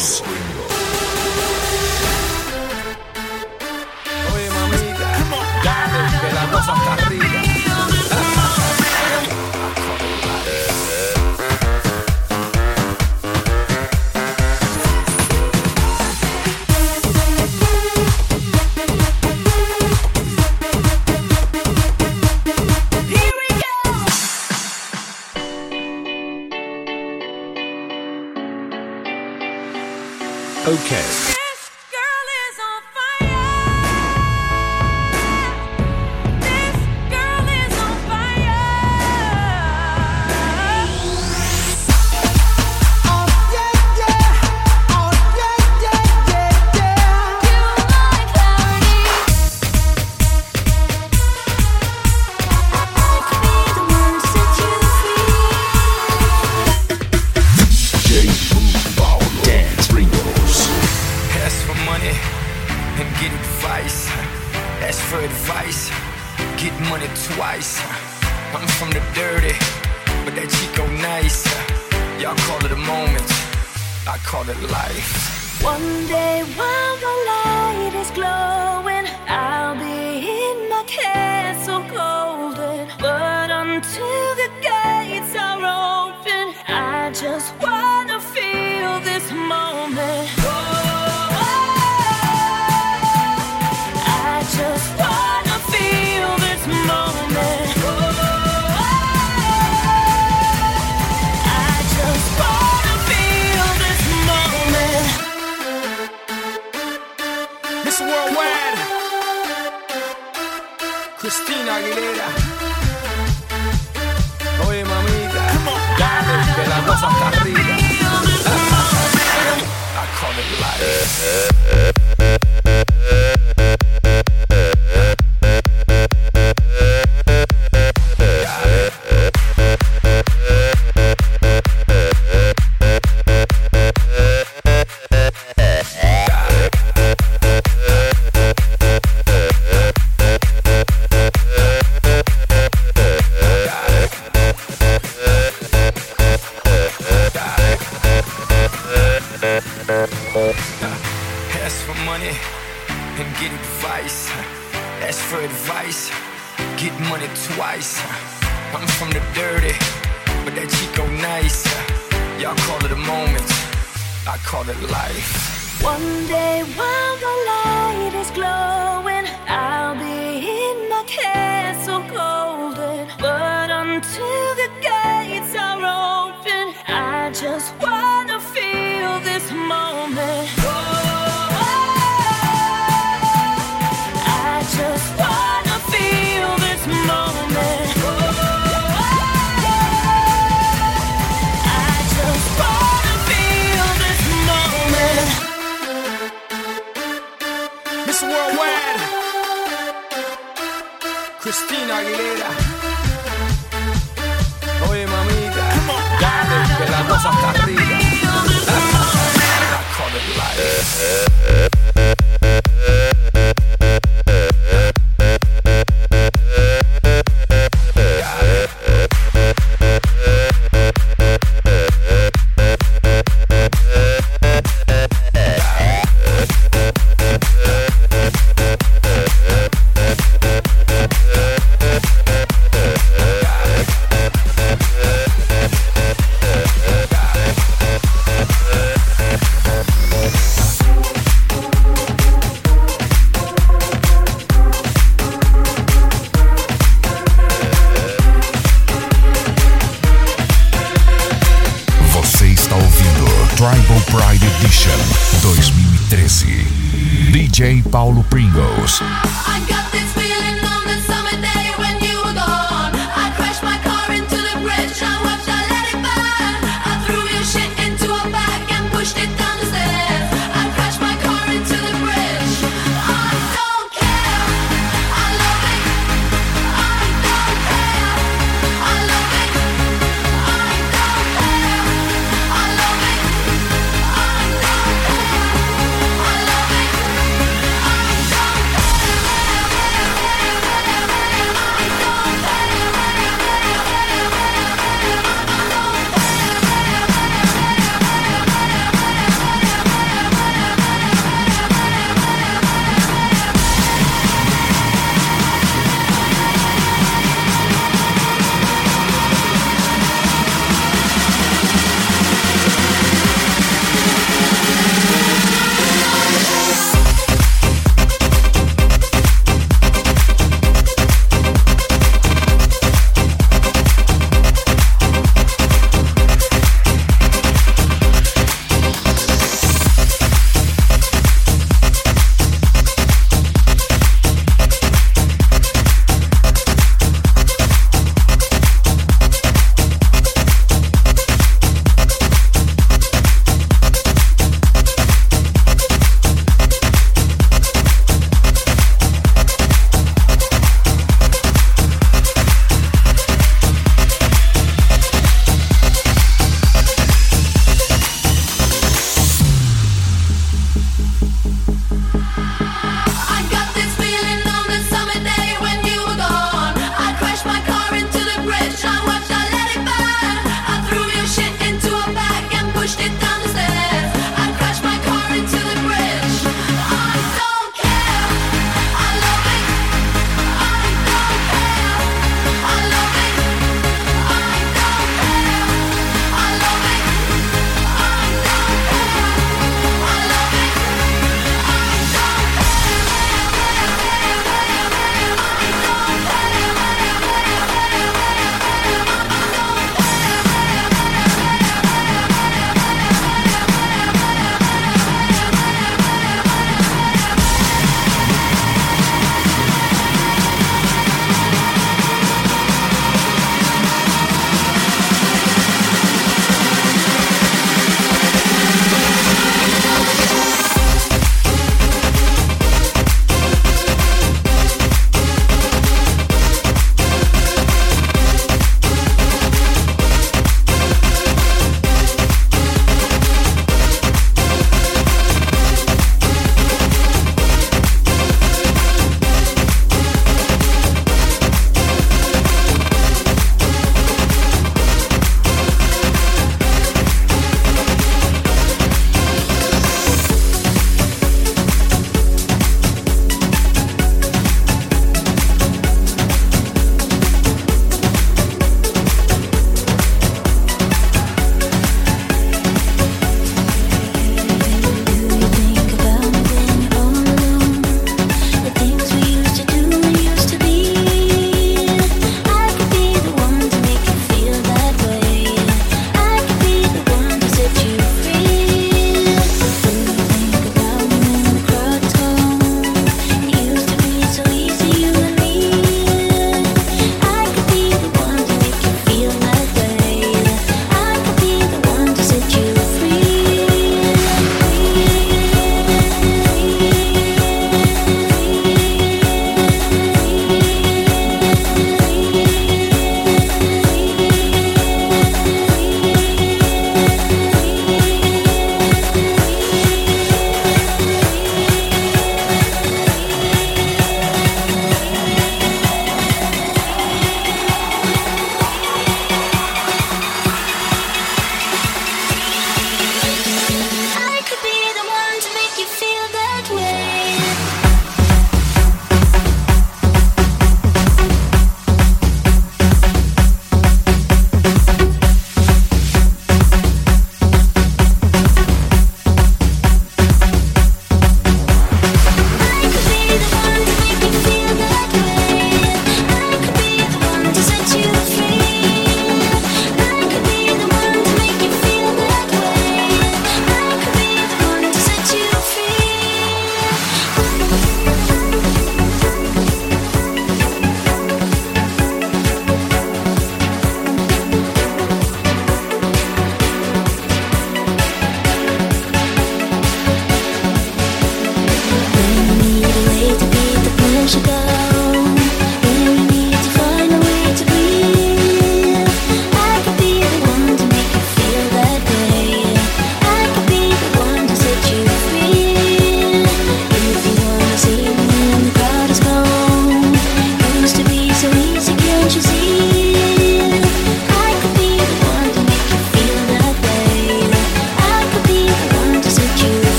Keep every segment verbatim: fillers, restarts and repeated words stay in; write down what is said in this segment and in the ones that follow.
Pringles. Oye, mamita, dale, que la cosa está arriba. Okay. Christina Aguilera. Oye, mamita, dale, que la cosa está arriba. I call it life. Ask for money and get advice. Ask for advice, get money twice. I'm from the dirty, but that Chico nice. Y'all call it a moment, I call it life. One day while the light is glowing, I'll be in my castle golden. But until the gates are open, I just wanna feel this moment. I just wanna feel this moment. I just wanna feel this moment. Miss Worldwide, Christina Aguilera. Oye, mamita, dale, que la cosa está arriba. I call it life. Tribal Pride Edition dois mil e treze. D J Paulo Pringles. I got this feeling on the summer day when you were gone. I crashed my car into the bridge. I watched, I let it burn. I threw your shit into a bag and pushed it down the stairs. I crashed my car into the bridge. I don't care. I love it. I don't care. I love it. I don't care. I love it. I don't care. I love it. I don't care.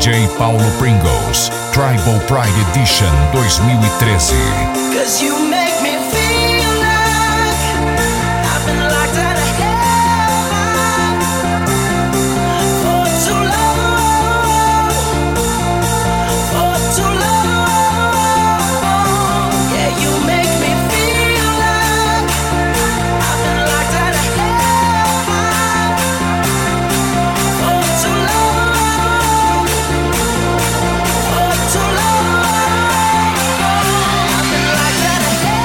J Paulo Pringles, Tribal Pride Edition dois mil e treze. Cause you make me feel like I've been locked out of heaven for too long, for too long. Yeah, you make me feel like I've been locked out of heaven for too long, for too long. I've been locked out of heaven.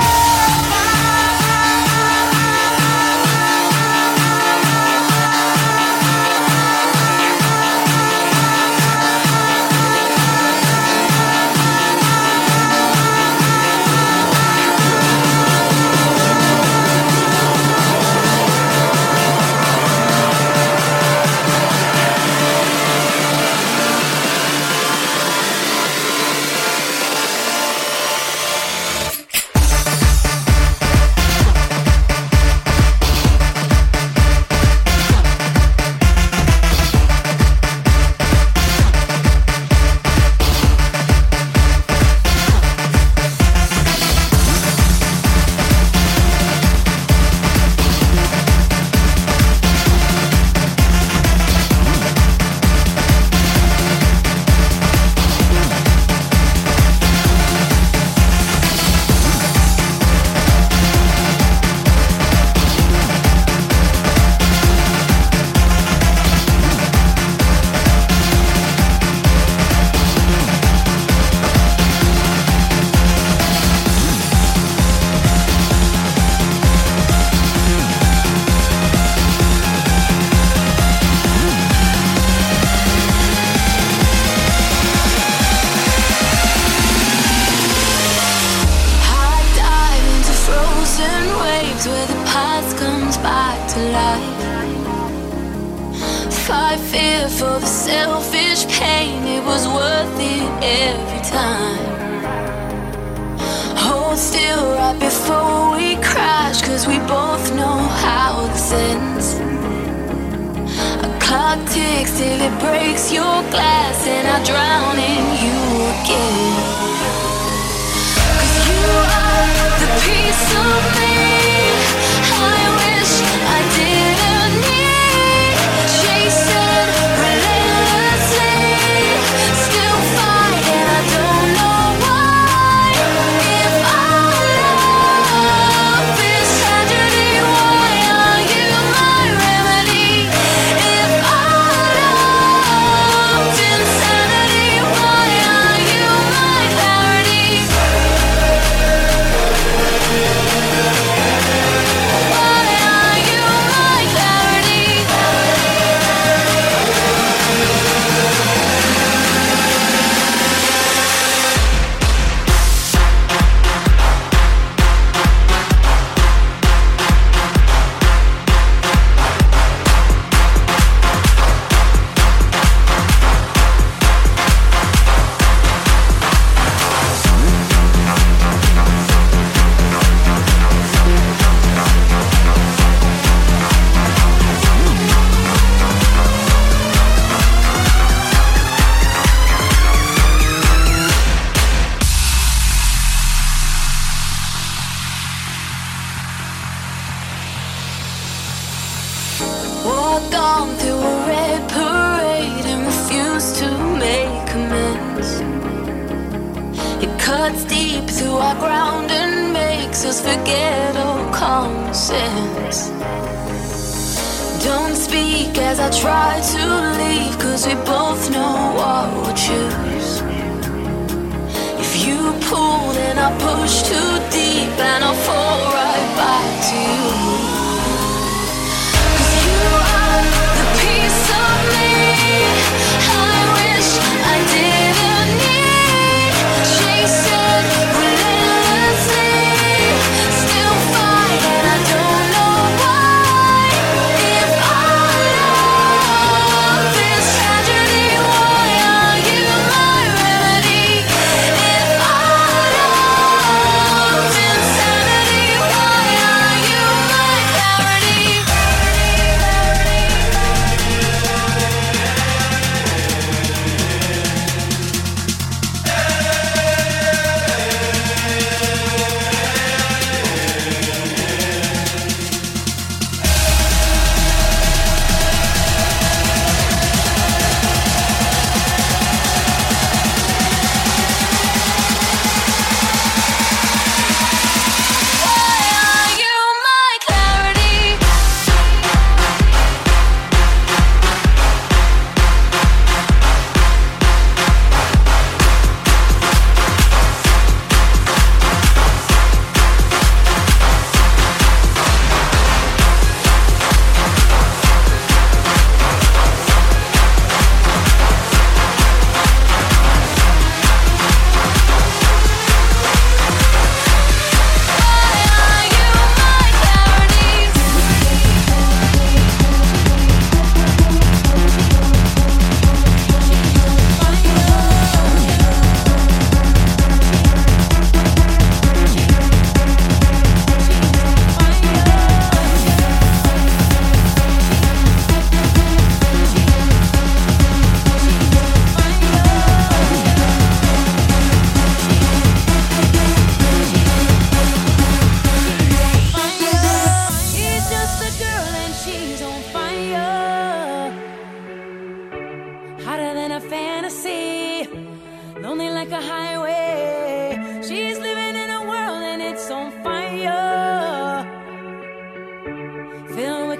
High dive into frozen waves where the past comes back to life. Fight fear for the selfish pain, it was worth it every time. Hold still right before we crash, cause we both know how this ends. A clock ticks till it breaks your glass, and I drown in you again. You are the piece of me I wish I didn't need. Chasing relentlessly, still fighting, I don't know why. If our love is tragedy, why are you my remedy? If our love's insanity, why are you my clarity? Why are you my clarity? Walk on through a red parade and refuse to make amends. It cuts deep through our ground and makes us forget all common sense. Don't speak as I try to leave, cause we both know what we'll choose. If you pull, then I push too deep and I'll fall right back to you. You are the piece of me I wish I didn't need. Chasing relentlessly, still fighting, I don't know why. If our love is tragedy, why are you my remedy? If our love's insanity,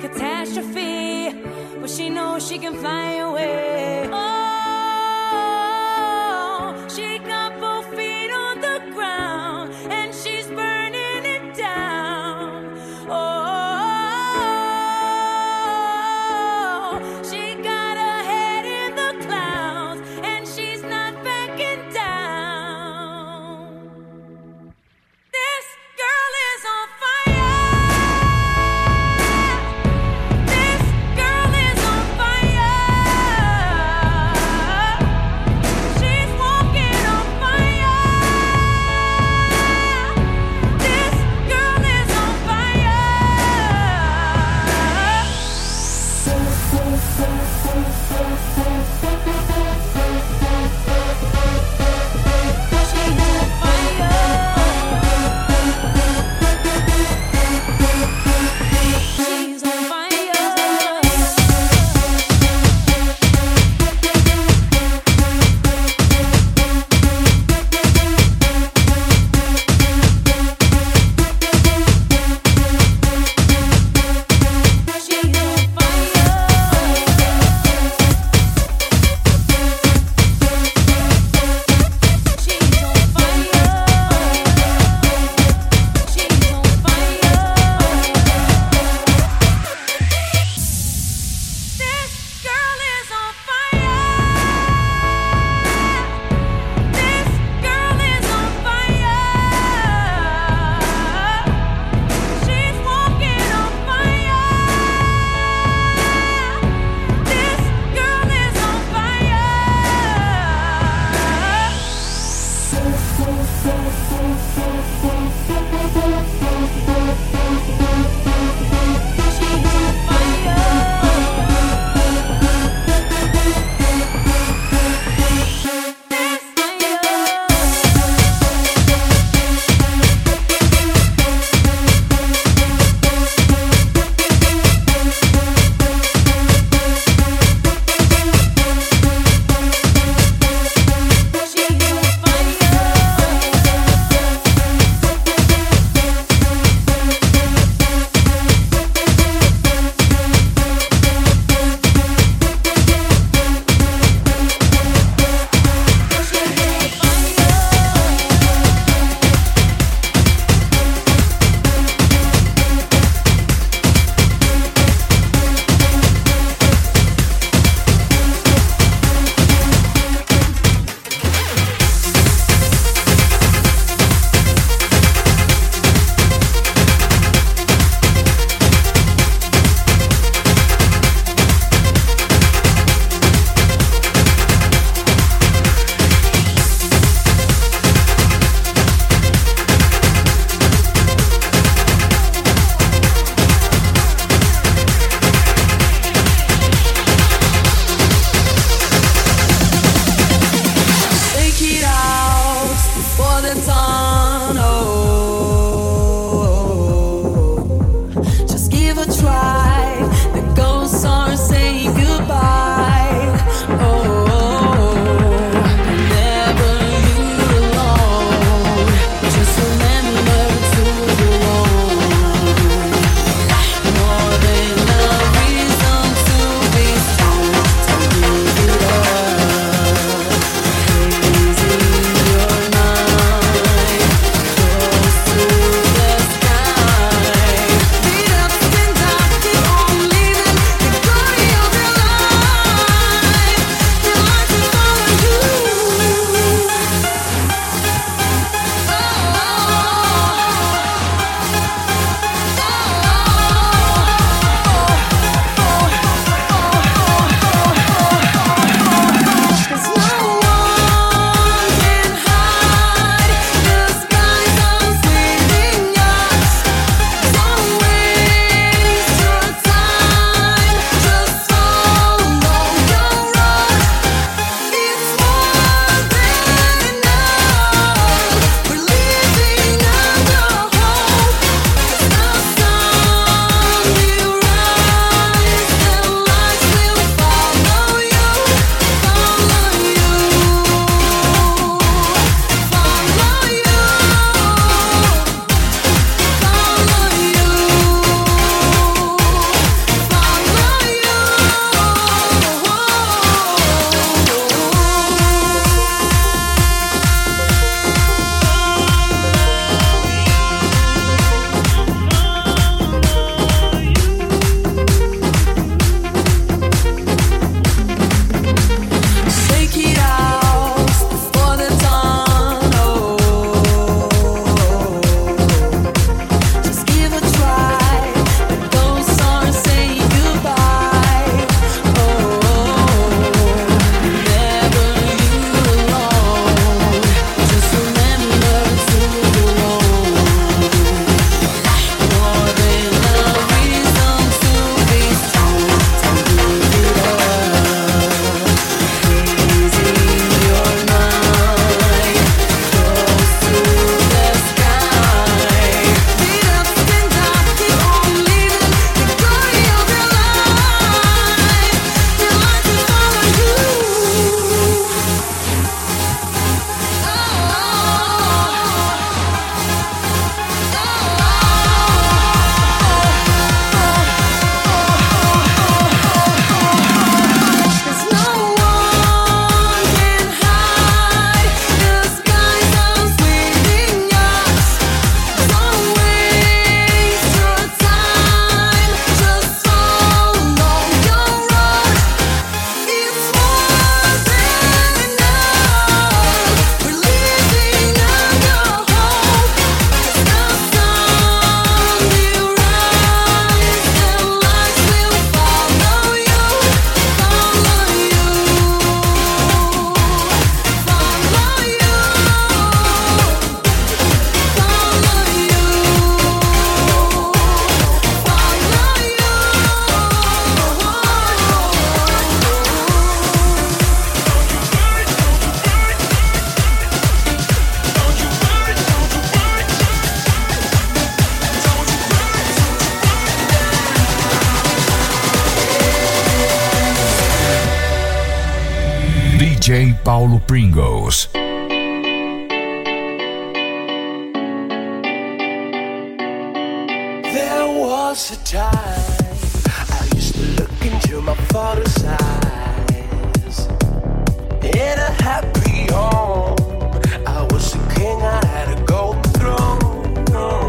catastrophe, but she knows she can fly away. Oh, she got both feet on the ground and she's burning it down. Oh, she got her head in the clouds and she's not backing down. This girl is on fire. This girl is on fire. D J Paulo Pringles. There was a time I used to look into my father's eyes. In a happy home, I was a king, I had a golden throne.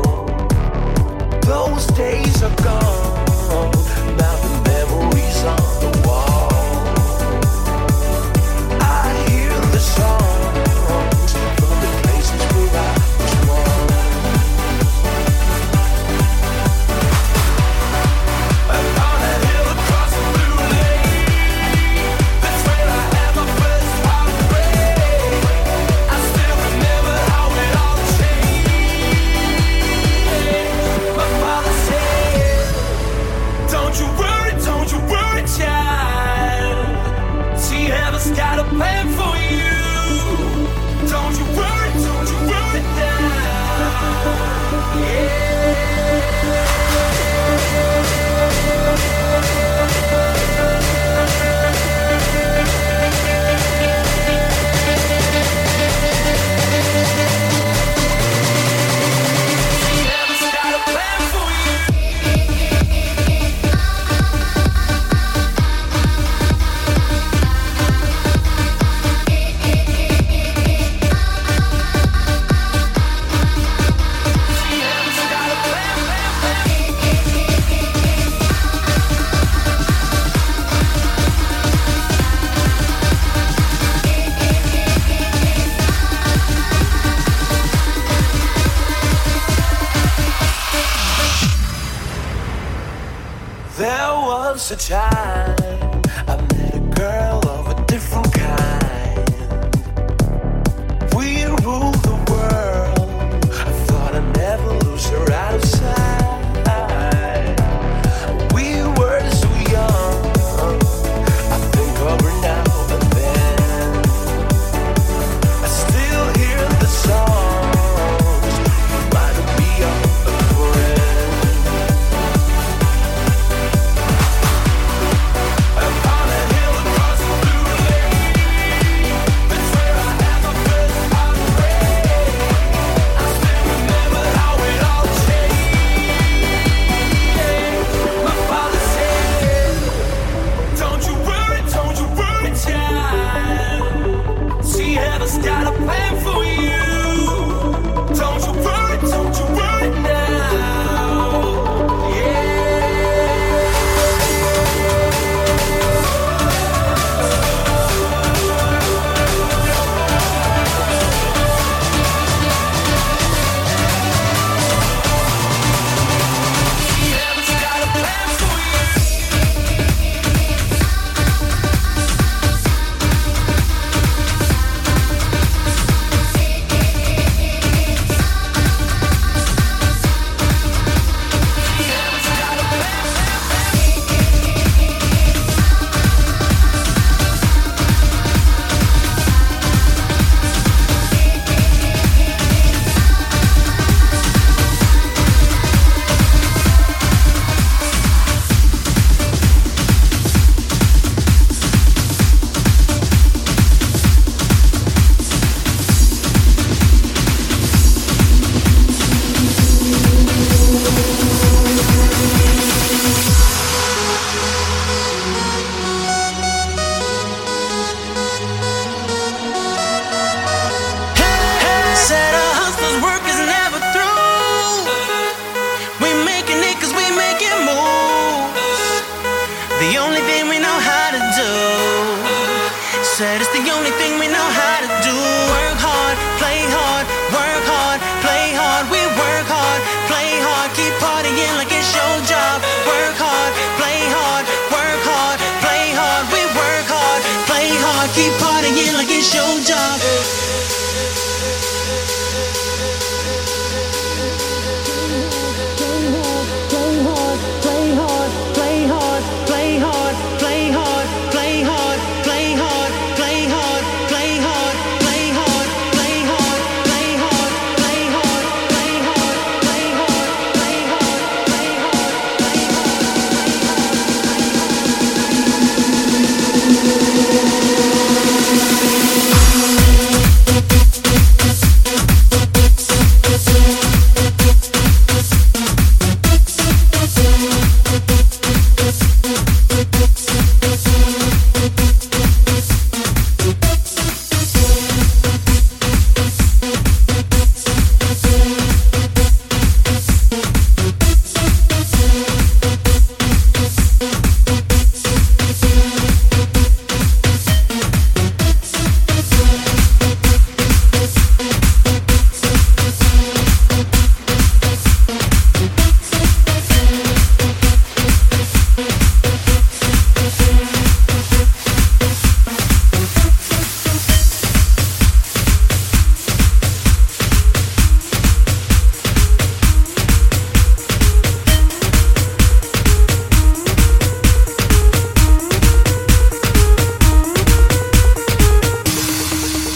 Those days are gone, now the memories on the wall. I hear the songs from the places where I was born. And on a hill across the blue lake, that's where I had my first heartbreak. I still remember how it all changed. My father said, don't you worry, don't you worry, child. See, heaven's got a plan for you. Don't you worry, don't you worry now. See, heaven's got a plan for you. See, heaven's got a plan, plan, plan. There was a time I met a girl of a different kind. We ruled the world. I thought I'd never lose her out of sight. We were so young. I think of her now and then. I still hear the songs reminding me of a friend. And on a hill across the blue lake, that's where I had my first heartbreak. I still remember how it all changed. My father said, don't you worry, don't you worry, child. See, heaven's got a plan for you. Don't you worry, don't you worry now. See, heaven's got a plan for you. Heaven's got a plan. Said a hustler's work is never through. We making it cause we making moves. The only thing we know how to do. Said it's the only thing we know how to do. Work hard, play hard, work hard, play hard. We work hard, play hard, keep partying like it's your job. Work hard, play hard, work hard, play hard. We work hard, play hard, keep partying like it's your job. Play hard, play hard, play hard, play hard, play hard, play hard, play hard, play hard, play hard, play hard, play hard, play hard, play hard, play hard, play hard, play hard, play hard, play hard.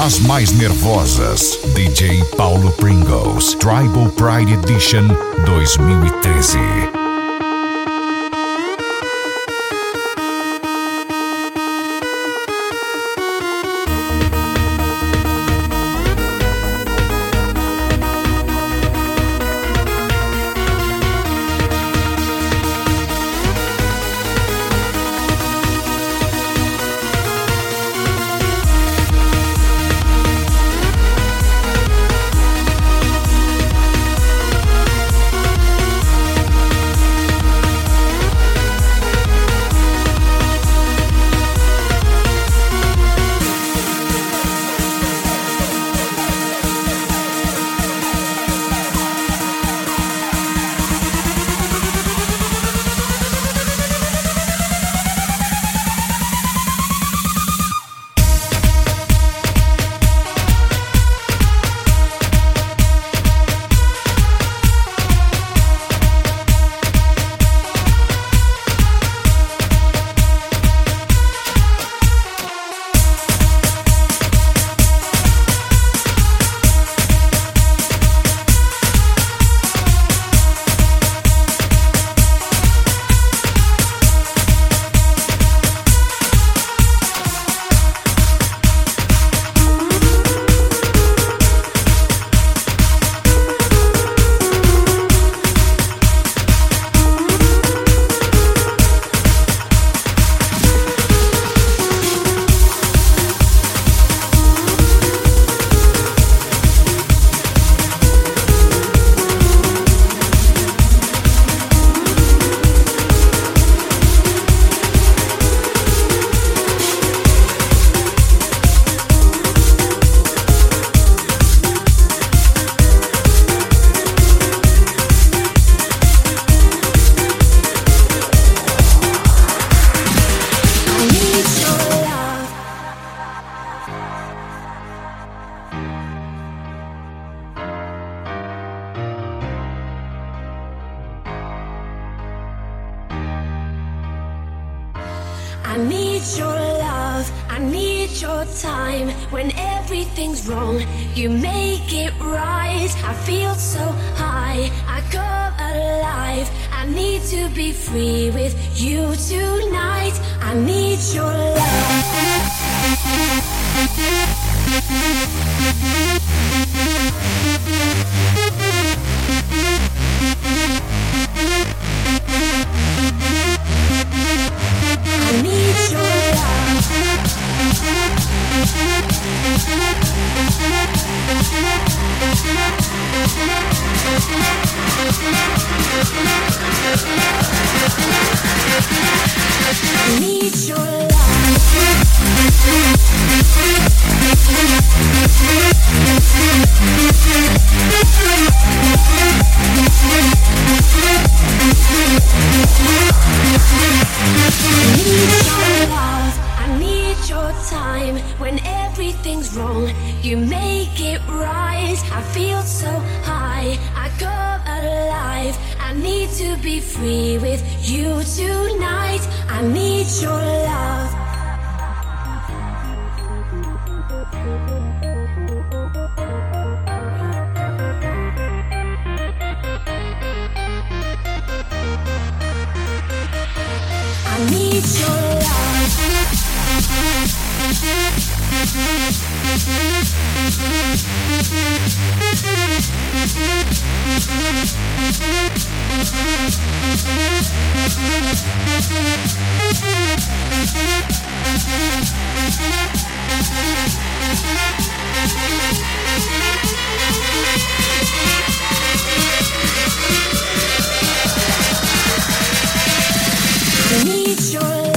das mais nervosas. D J Paulo Pringles, Tribal Pride Edition dois mil e treze. I need your love, I need your time. When everything's wrong, you make it right. I feel so high, I come alive. I need to be free with you tonight. I need your love. I need your I need your love. I need your time. When everything's wrong, you make it right. I feel so high, I come alive. I need to be free with you tonight. I need your love. I need your love. I need your love.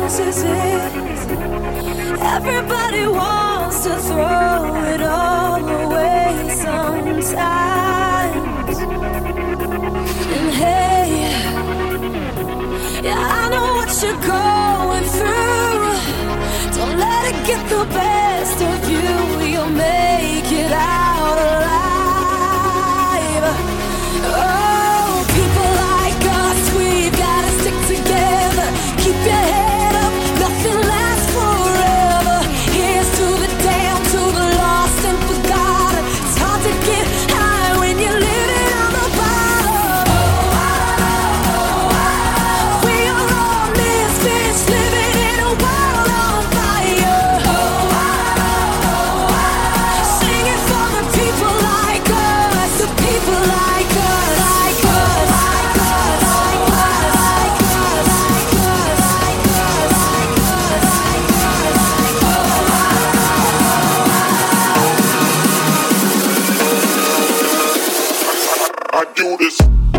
passes it. Everybody wants to throw it all away sometimes. And hey, yeah, I know what you're going through. Don't let it get the best of you. You'll make it out alive. Oh, people like us, we've gotta stick together. Keep your head up, nothing lasts forever. Here's to the damned, to the lost and forgotten. It's hard to get high when you're living on the bottom. We are all misfits living in a world on fire. Singing for the people like us, the people like us, like us, like us, like us, like us, like us, like us, like us, like us. I do this.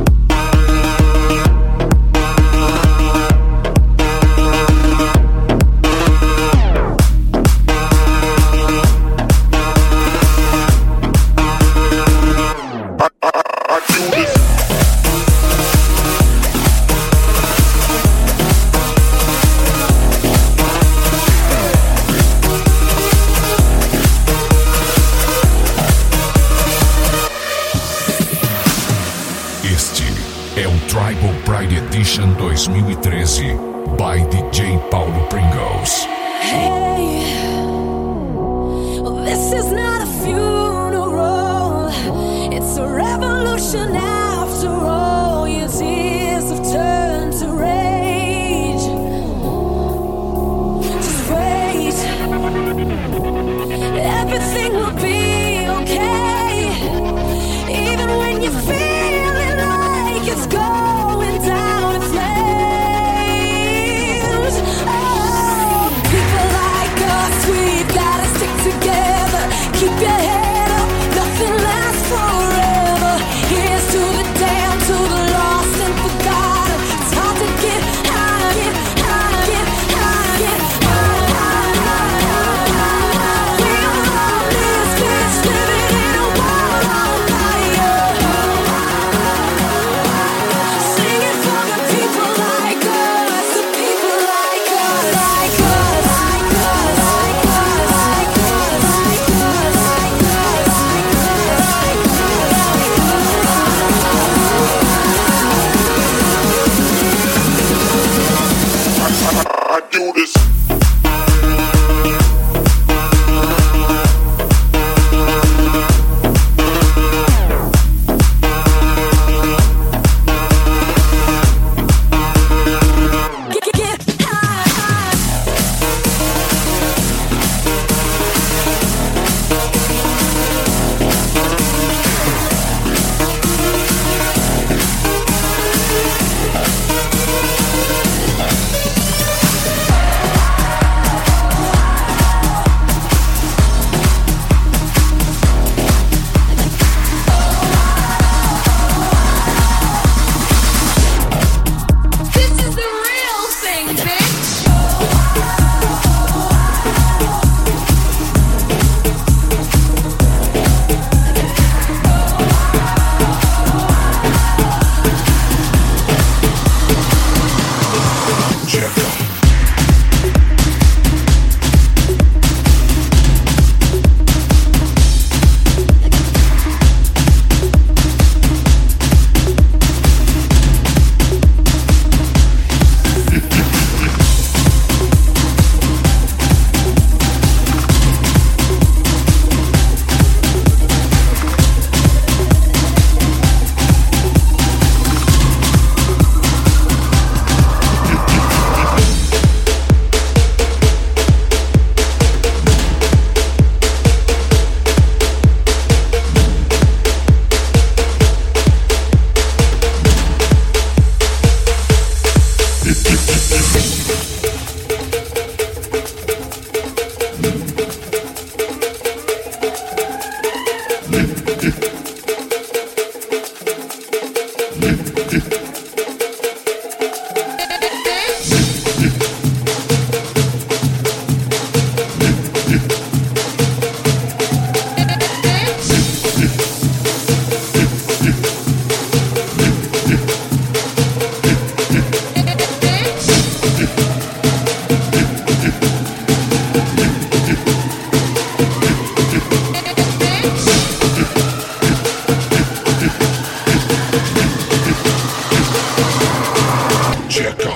I, I, I do this. Este é o Tribal Pride Edition dois mil e treze by D J Paulo Pringles. Hey, well, this is not a funeral. It's a revolution after all. Your tears have turned to rage. Just wait, everything will be okay. Even when you're feeling like it's going down in flames. Oh, people like us, we've gotta stick together. Keep your head up, nothing lasts forever. Here's to the Checa.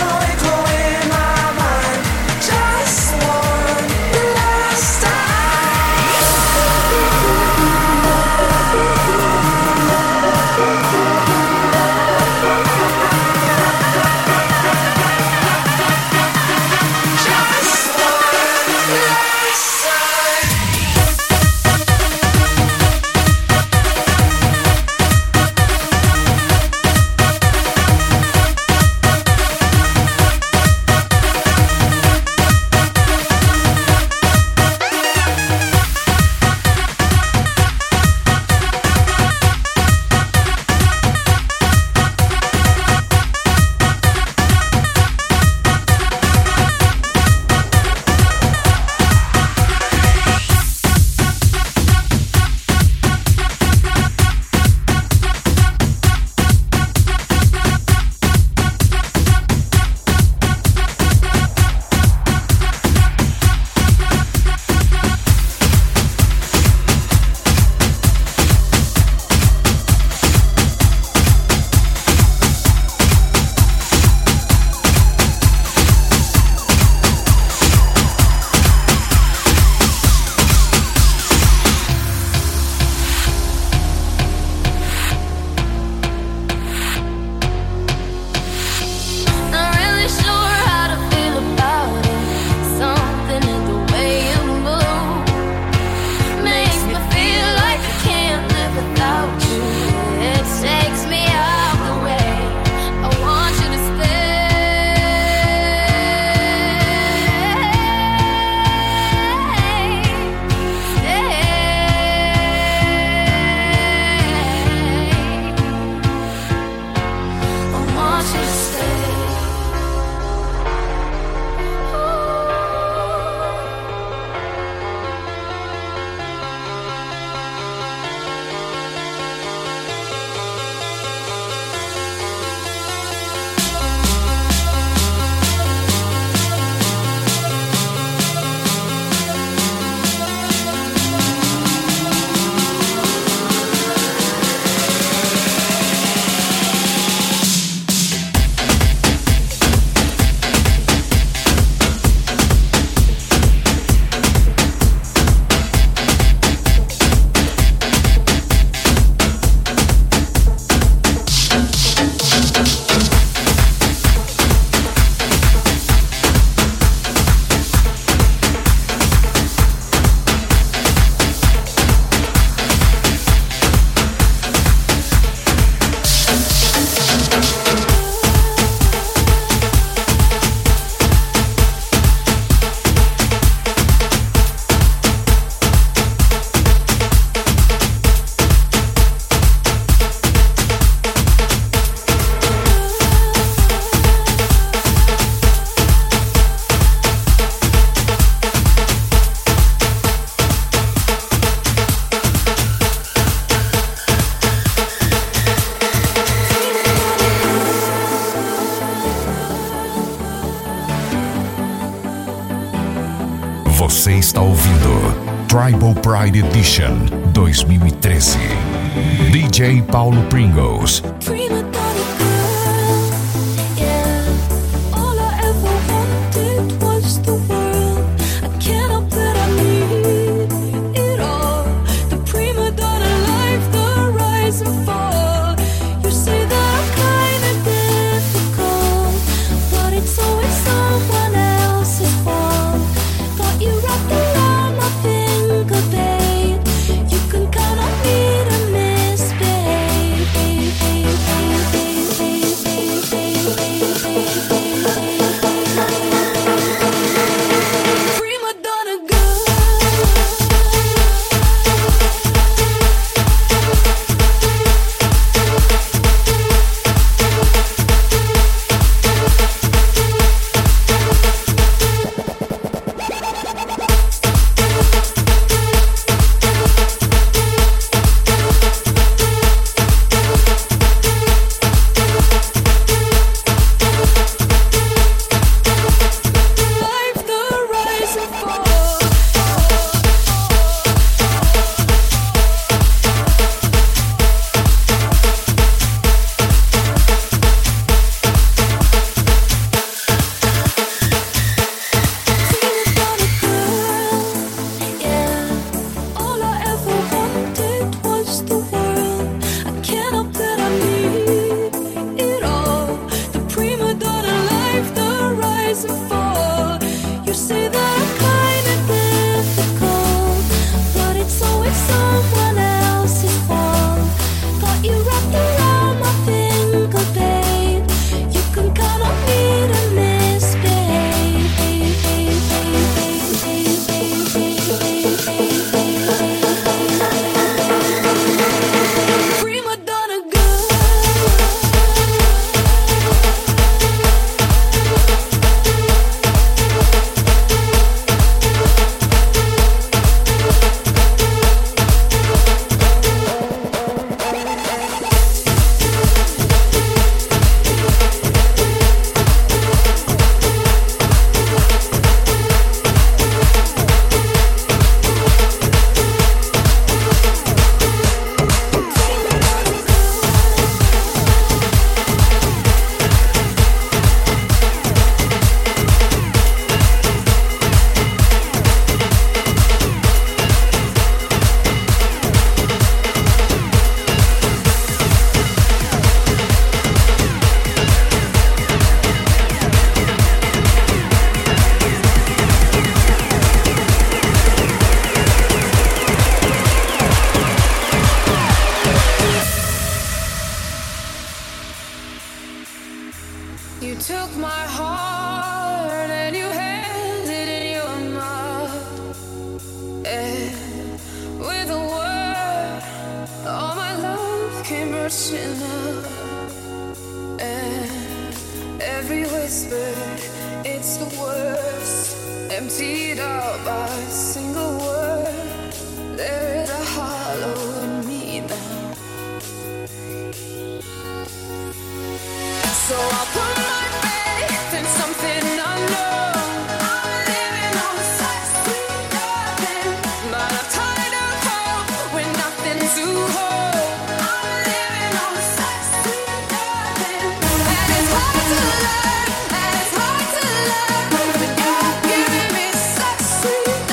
Tomorrow echo in my mind. Just one last time. Tribal Pride Edition dois mil e treze. D J Paulo Pringles. Prima donna girl, yeah. All I ever wanted was the world. I can't help that I need it all. The prima donna life, the rise and fall. You say that I'm kinda difficult, but it's always someone else's fault. Got you wrapped around my finger, babe. You can count on me to misbehave. Prima donna girl. Life, the rise and fall. Prima donna girl, yeah. All I ever wanted was the world. I can't help that I need it all. The prima donna life, the rise and fall. You say that I'm kinda difficult, but it's always someone else's fault. Got you wrapped around my finger, babe. You can count on me to misbehave. Prima donna girl. You took my heart and you held it in your mouth. And with a word, all my love came rushing out. And every whisper, it's the worst, emptied out by a single word. There is a hollow in me now. So I'll put my faith in something unknown. I'm living on the side street nothing, but I'm tired of hope with nothing to hold. I'm living on the side street nothing, and it's hard to learn, and it's hard to learn when you're giving me such sweet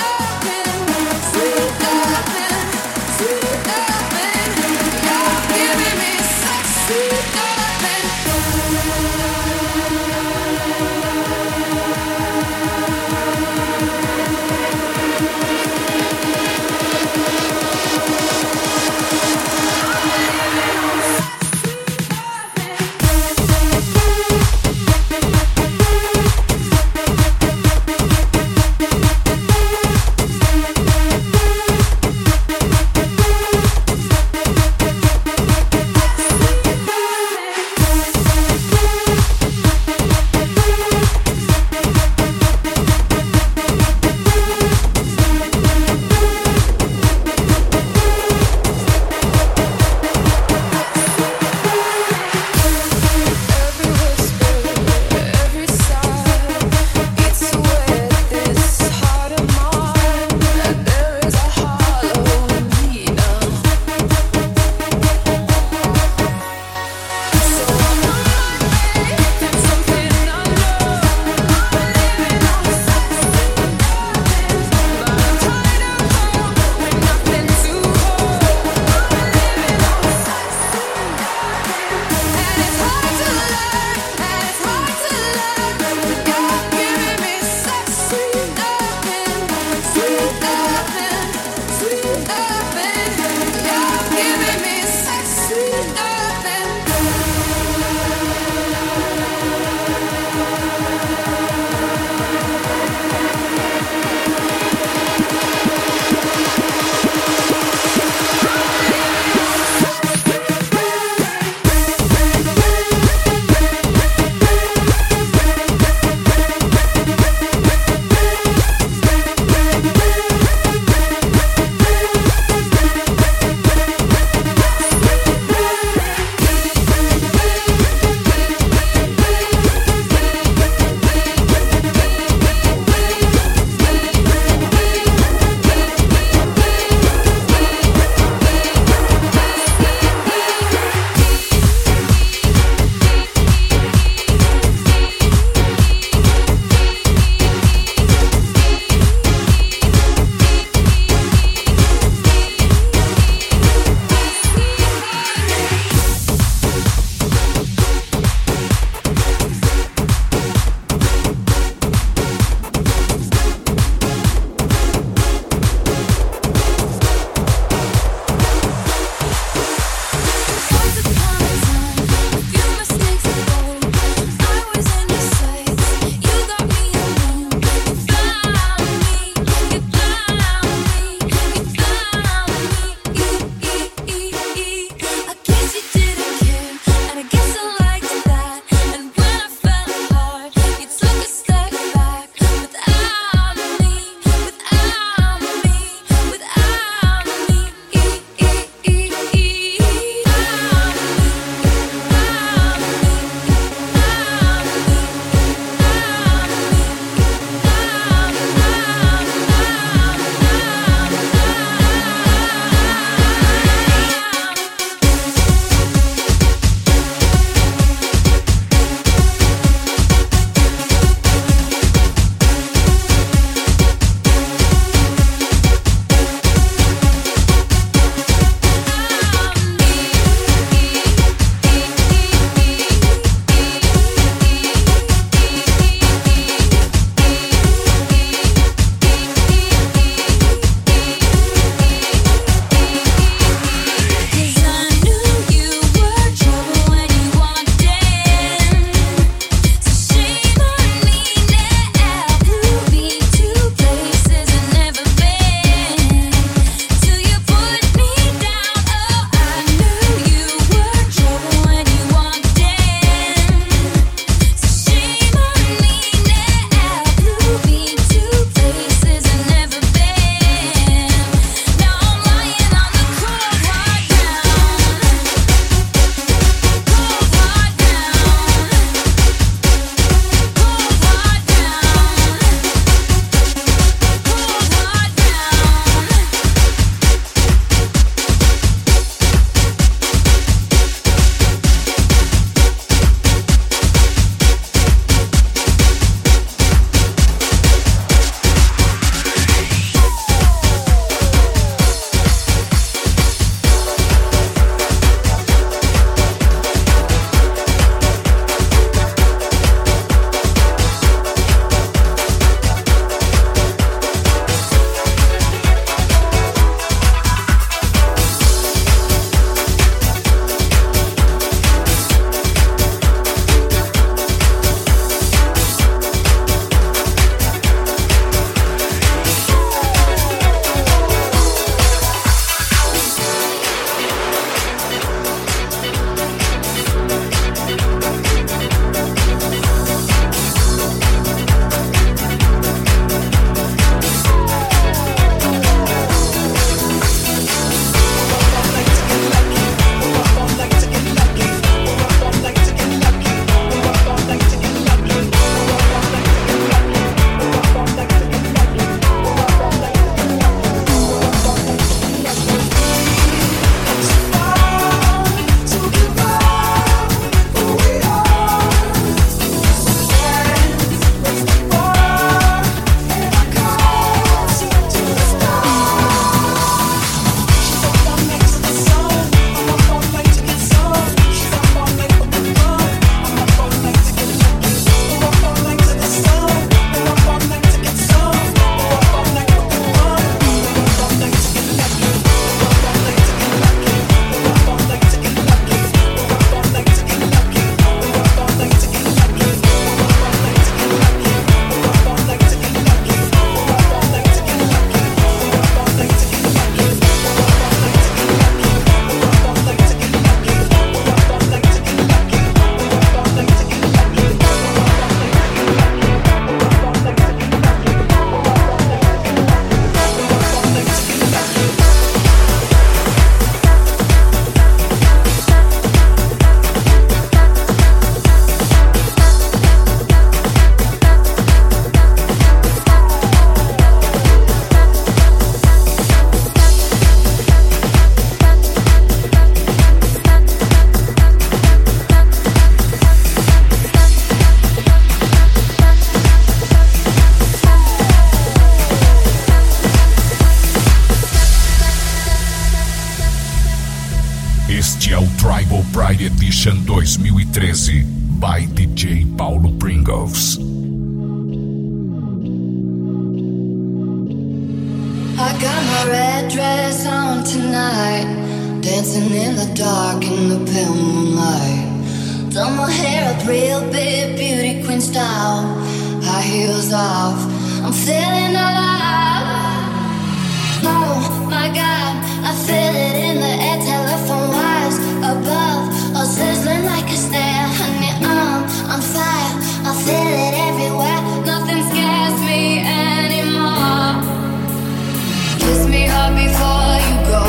Este é o Tribal Pride Edition dois mil e treze by D J Paulo Pringles. I got my red dress on tonight, dancing in the dark in the pale moonlight. Done my hair up real big, beauty queen style, high heels off, I'm feeling alive. Oh my God, I feel it in the air, telephone wires above, all sizzling like a snare. Honey, I'm on fire, I feel it everywhere, nothing scares me anymore. Kiss me hard before you go,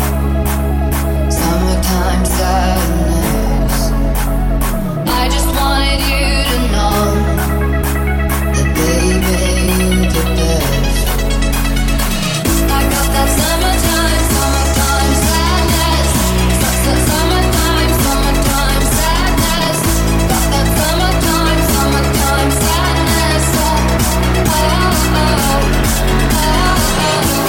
summertime sadness. I just wanted you to know that baby, you're the best. I got that summertime, summertime sadness. Summertime, summertime sadness. Got that summertime, summertime sadness. Oh, oh, oh, oh, oh.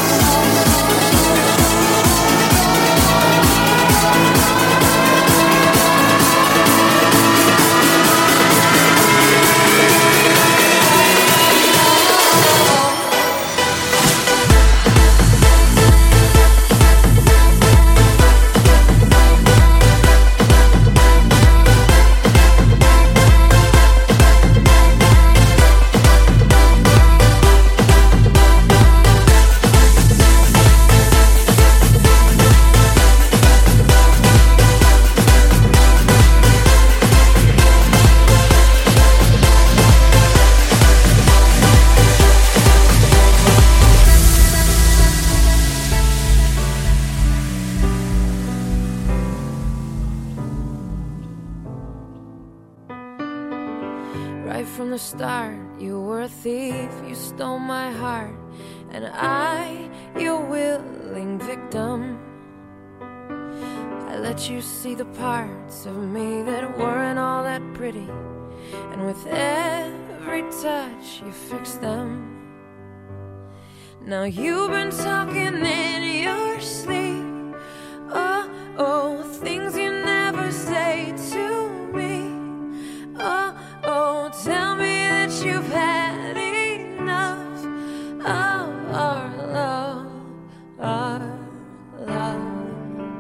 Right from the start, you were a thief, you stole my heart, and I, your willing victim. I let you see the parts of me that weren't all that pretty, and with every touch you fixed them. Now you've been talking in your sleep, oh, oh, things you never say to me. Oh, oh, tell me that you've had enough of our love, our love.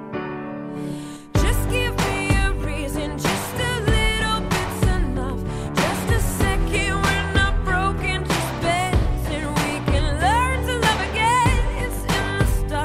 Just give me a reason, just a little bit's enough. Just a second, we're not broken, just bends, and we can learn to love again. It's in the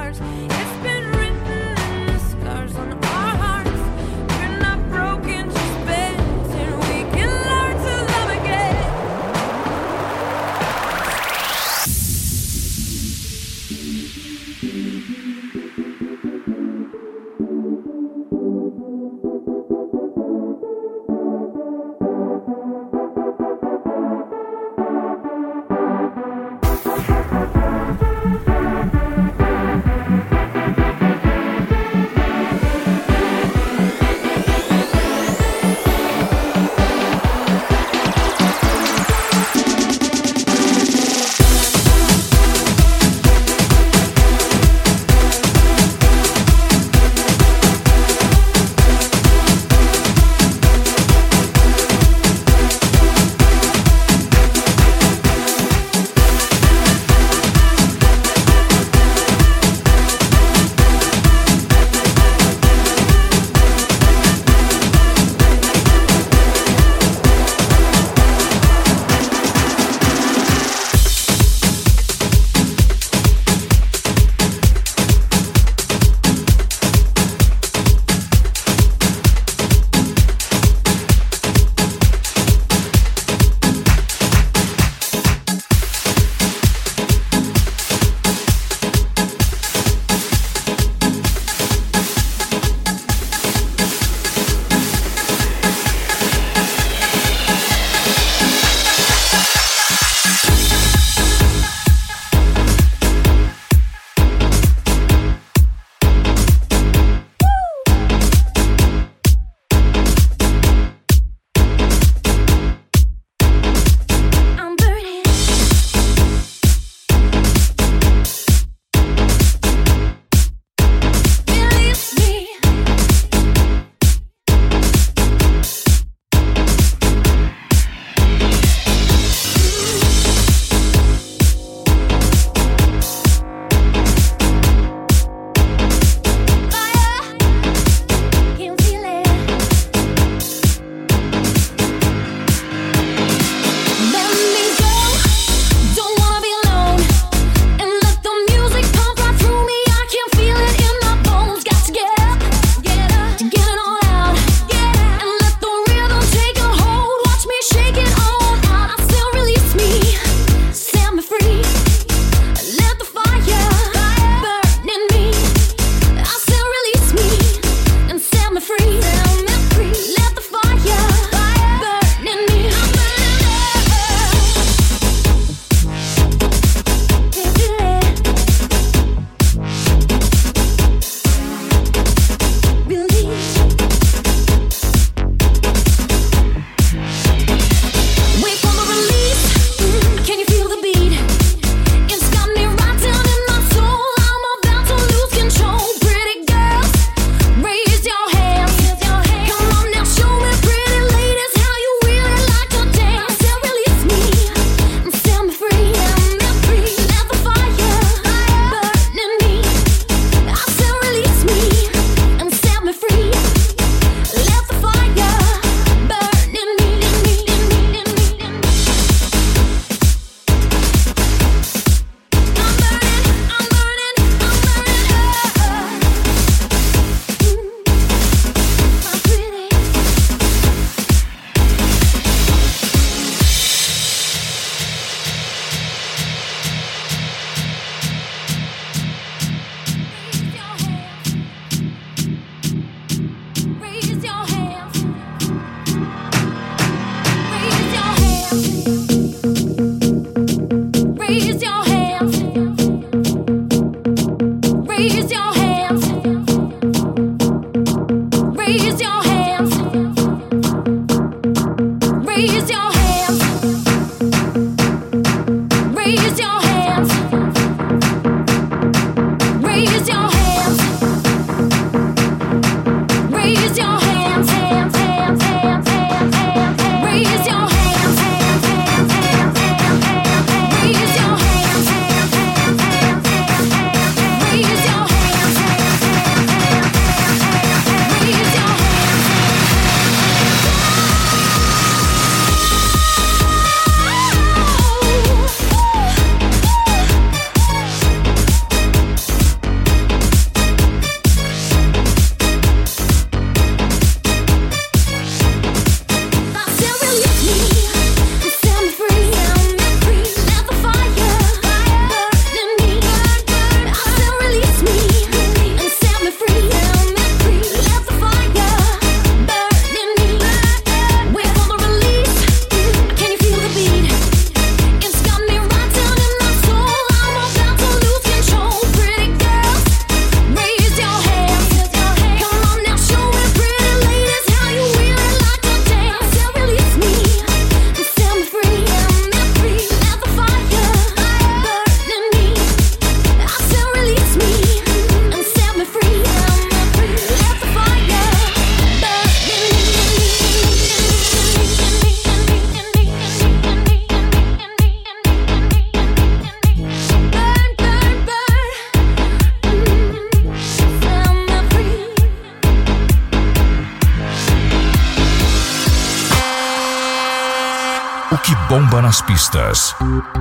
bomba nas pistas.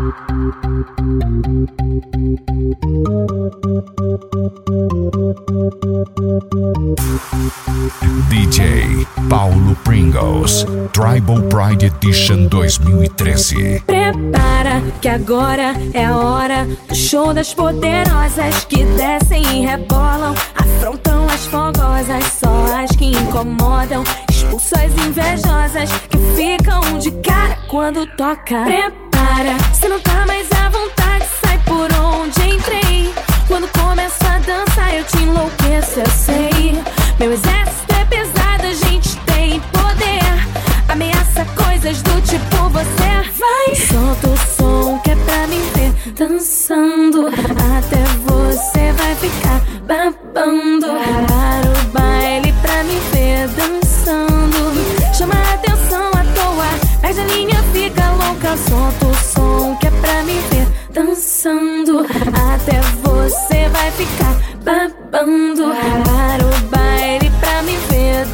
D J Paulo Pringles, Tribal Pride Edition dois mil e treze. Prepara que agora é a hora do show das poderosas que descem e rebolam, afrontam as fogosas, só as que incomodam, expulsam as invejosas que ficam de cara quando toca. Prepara, se não tá mais à vontade, sai por onde entrei. Quando começo a dançar eu te enlouqueço, eu sei. Meu exército é pesado, a gente tem poder, ameaça coisas do tipo você vai. Solta o som que é pra me ver dançando, até você vai ficar babando. Para o baile pra me ver dançando, chama a atenção à toa, perde a linha, fica louca. Solta o som que é pra me ver dançando, até você vai ficar babando. Para o baile pra me ver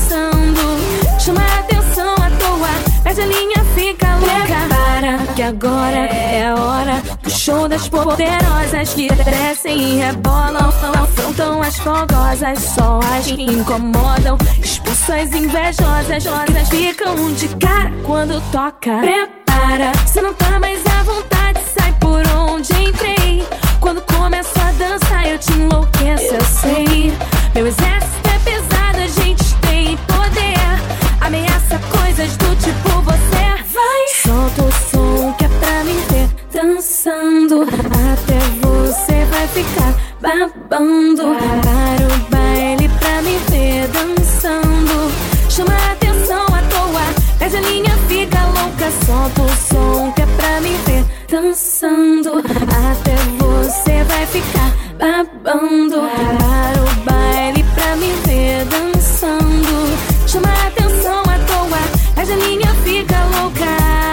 dançando, chama a atenção à toa, perde a linha, fica louca. Para que agora é a hora do show das poderosas que descem e rebolam, afrontam as fogosas, só as que incomodam, expulsam as invejosas, rosas ficam de cara quando toca. Prepara, se não tá mais à vontade, sai por onde entrei. Quando começo a dançar eu te enlouqueço, eu sei. Meu exército é pesado, a gente tem poder, ameaça coisas do tipo você vai. Solta o som que é pra me ver dançando, até você vai ficar babando. Para o baile pra me ver dançando, chama a atenção à toa, perde a linha, fica louca. Solta o som que é pra me ver dançando, até você vai ficar babando. Para o baile pra me ver dançando, chama a atenção à toa, perde a linha, fica louca,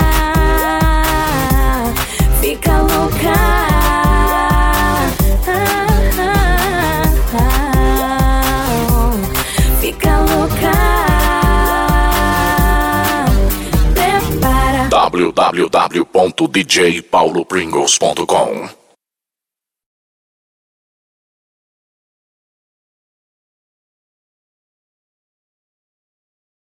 fica louca. Ah, ah, ah, fica louca. w w w ponto d j paulo pringles ponto com